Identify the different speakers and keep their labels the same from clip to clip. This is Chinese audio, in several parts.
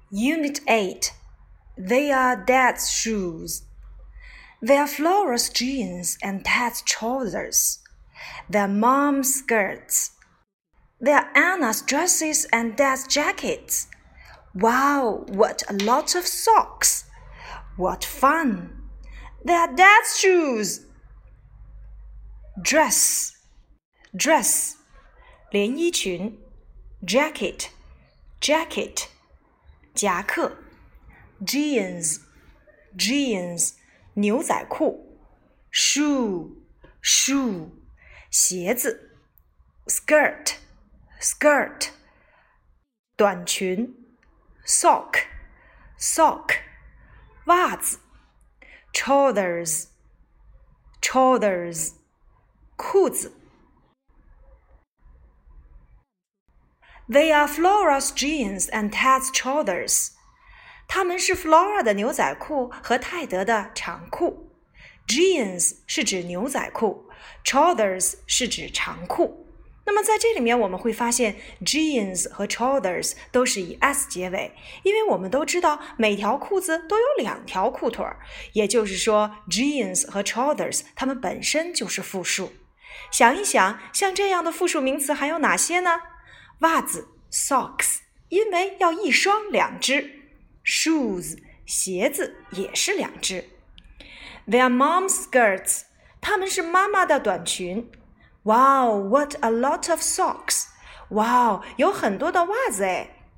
Speaker 1: Unit 8. They are Dad's shoes. They are Flora's jeans and Ted's trousers. They are Mom's skirts. They are Anna's dresses and Dad's jackets. Wow, what a lot of socks. What fun. They are Dad's shoes. Dress, 连衣裙 Jacket, 夹克 Jeans, 牛仔裤 Shoe, 鞋子 Skirt, 短裙 Sock, 袜子 Trousers, 裤子 They are Flora's jeans and Ted's trousers. 它们是 Flora 的牛仔裤和泰德的长裤。Jeans 是指牛仔裤 ，trousers 是指长裤。那么在这里面我们会发现 jeans 和 trousers 都是以 s 结尾，因为我们都知道每条裤子都有2条裤腿，也就是说 jeans 和 trousers 它们本身就是复数。想一想，像这样的复数名词还有哪些呢？袜子 socks， 因为要一双2只 shoes， 鞋子也是2只 They are mom's skirts， 它们是妈妈的短裙 Wow, what a lot of socks， Wow， 有很多的袜子诶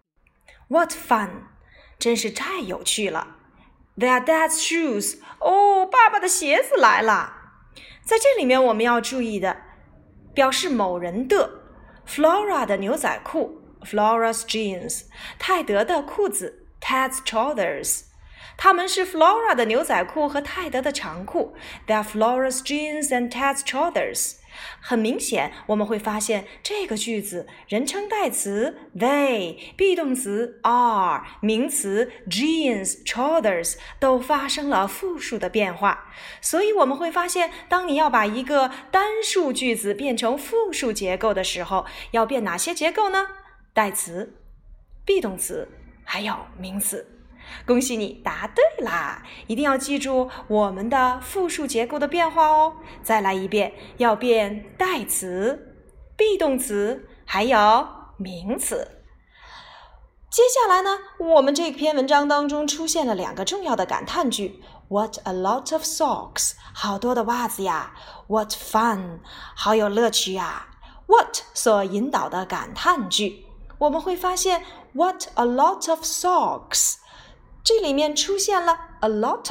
Speaker 1: What fun， 真是太有趣了 They are dad's shoes， 哦，爸爸的鞋子来了。在这里面我们要注意的，表示某人的Flora 的牛仔裤 Flora's jeans， 泰德的裤子 Ted's trousers， 它们是 Flora 的牛仔裤和泰德的长裤 They are Flora's jeans and Ted's trousers。 很明显我们会发现这个句子人称代词 they， be动词 are， 名词 jeans, trousers 都发生了复数的变化，所以我们会发现当你要把一个单数句子变成复数结构的时候，要变哪些结构呢？代词 be动词还有名词。恭喜你答对啦！一定要记住我们的复数结构的变化哦。再来一遍，要变代词、be动词还有名词。接下来呢，我们这篇文章当中出现了2个重要的感叹句 What a lot of socks， 好多的袜子呀 What fun， 好有乐趣呀 What 所引导的感叹句，我们会发现 What a lot of socks，这里面出现了 a lot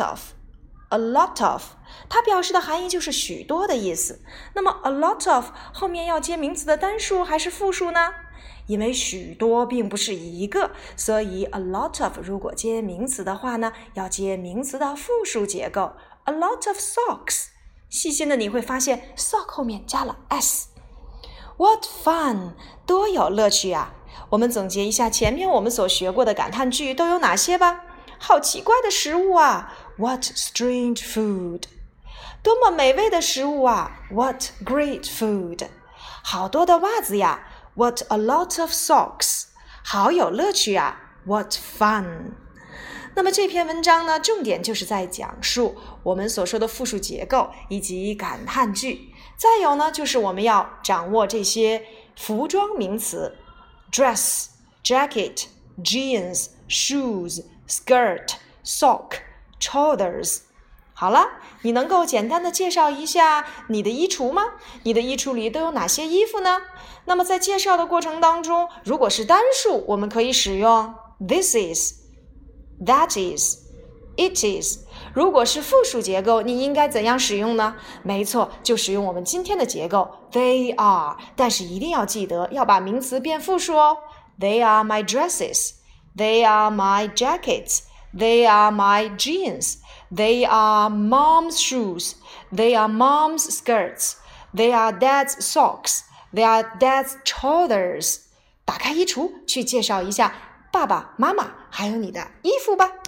Speaker 1: of， 它表示的含义就是许多的意思。那么 a lot of 后面要接名词的单数还是复数呢？因为许多并不是一个，所以 a lot of 如果接名词的话呢，要接名词的复数结构 a lot of socks。 细心的你会发现 sock 后面加了 s。 What fun， 多有乐趣啊！我们总结一下前面我们所学过的感叹句都有哪些吧。好奇怪的食物啊 What strange food， 多么美味的食物啊 What great food， 好多的袜子呀 What a lot of socks， 好有乐趣啊 What fun。 那么这篇文章呢，重点就是在讲述我们所说的复数结构以及感叹句，再有呢就是我们要掌握这些服装名词 dress, jacket, jeans, shoes,Skirt, sock, trousers。 好了，你能够简单的介绍一下你的衣橱吗？你的衣橱里都有哪些衣服呢？那么在介绍的过程当中，如果是单数，我们可以使用 this is, that is, it is。 如果是复数结构，你应该怎样使用呢？没错，就使用我们今天的结构 they are， 但是一定要记得要把名词变复数哦。 They are my dresses，They are my jackets. They are my jeans. They are mom's shoes. They are mom's skirts. They are dad's socks. They are dad's trousers. 打开衣橱，去介绍一下爸爸妈妈还有你的衣服吧。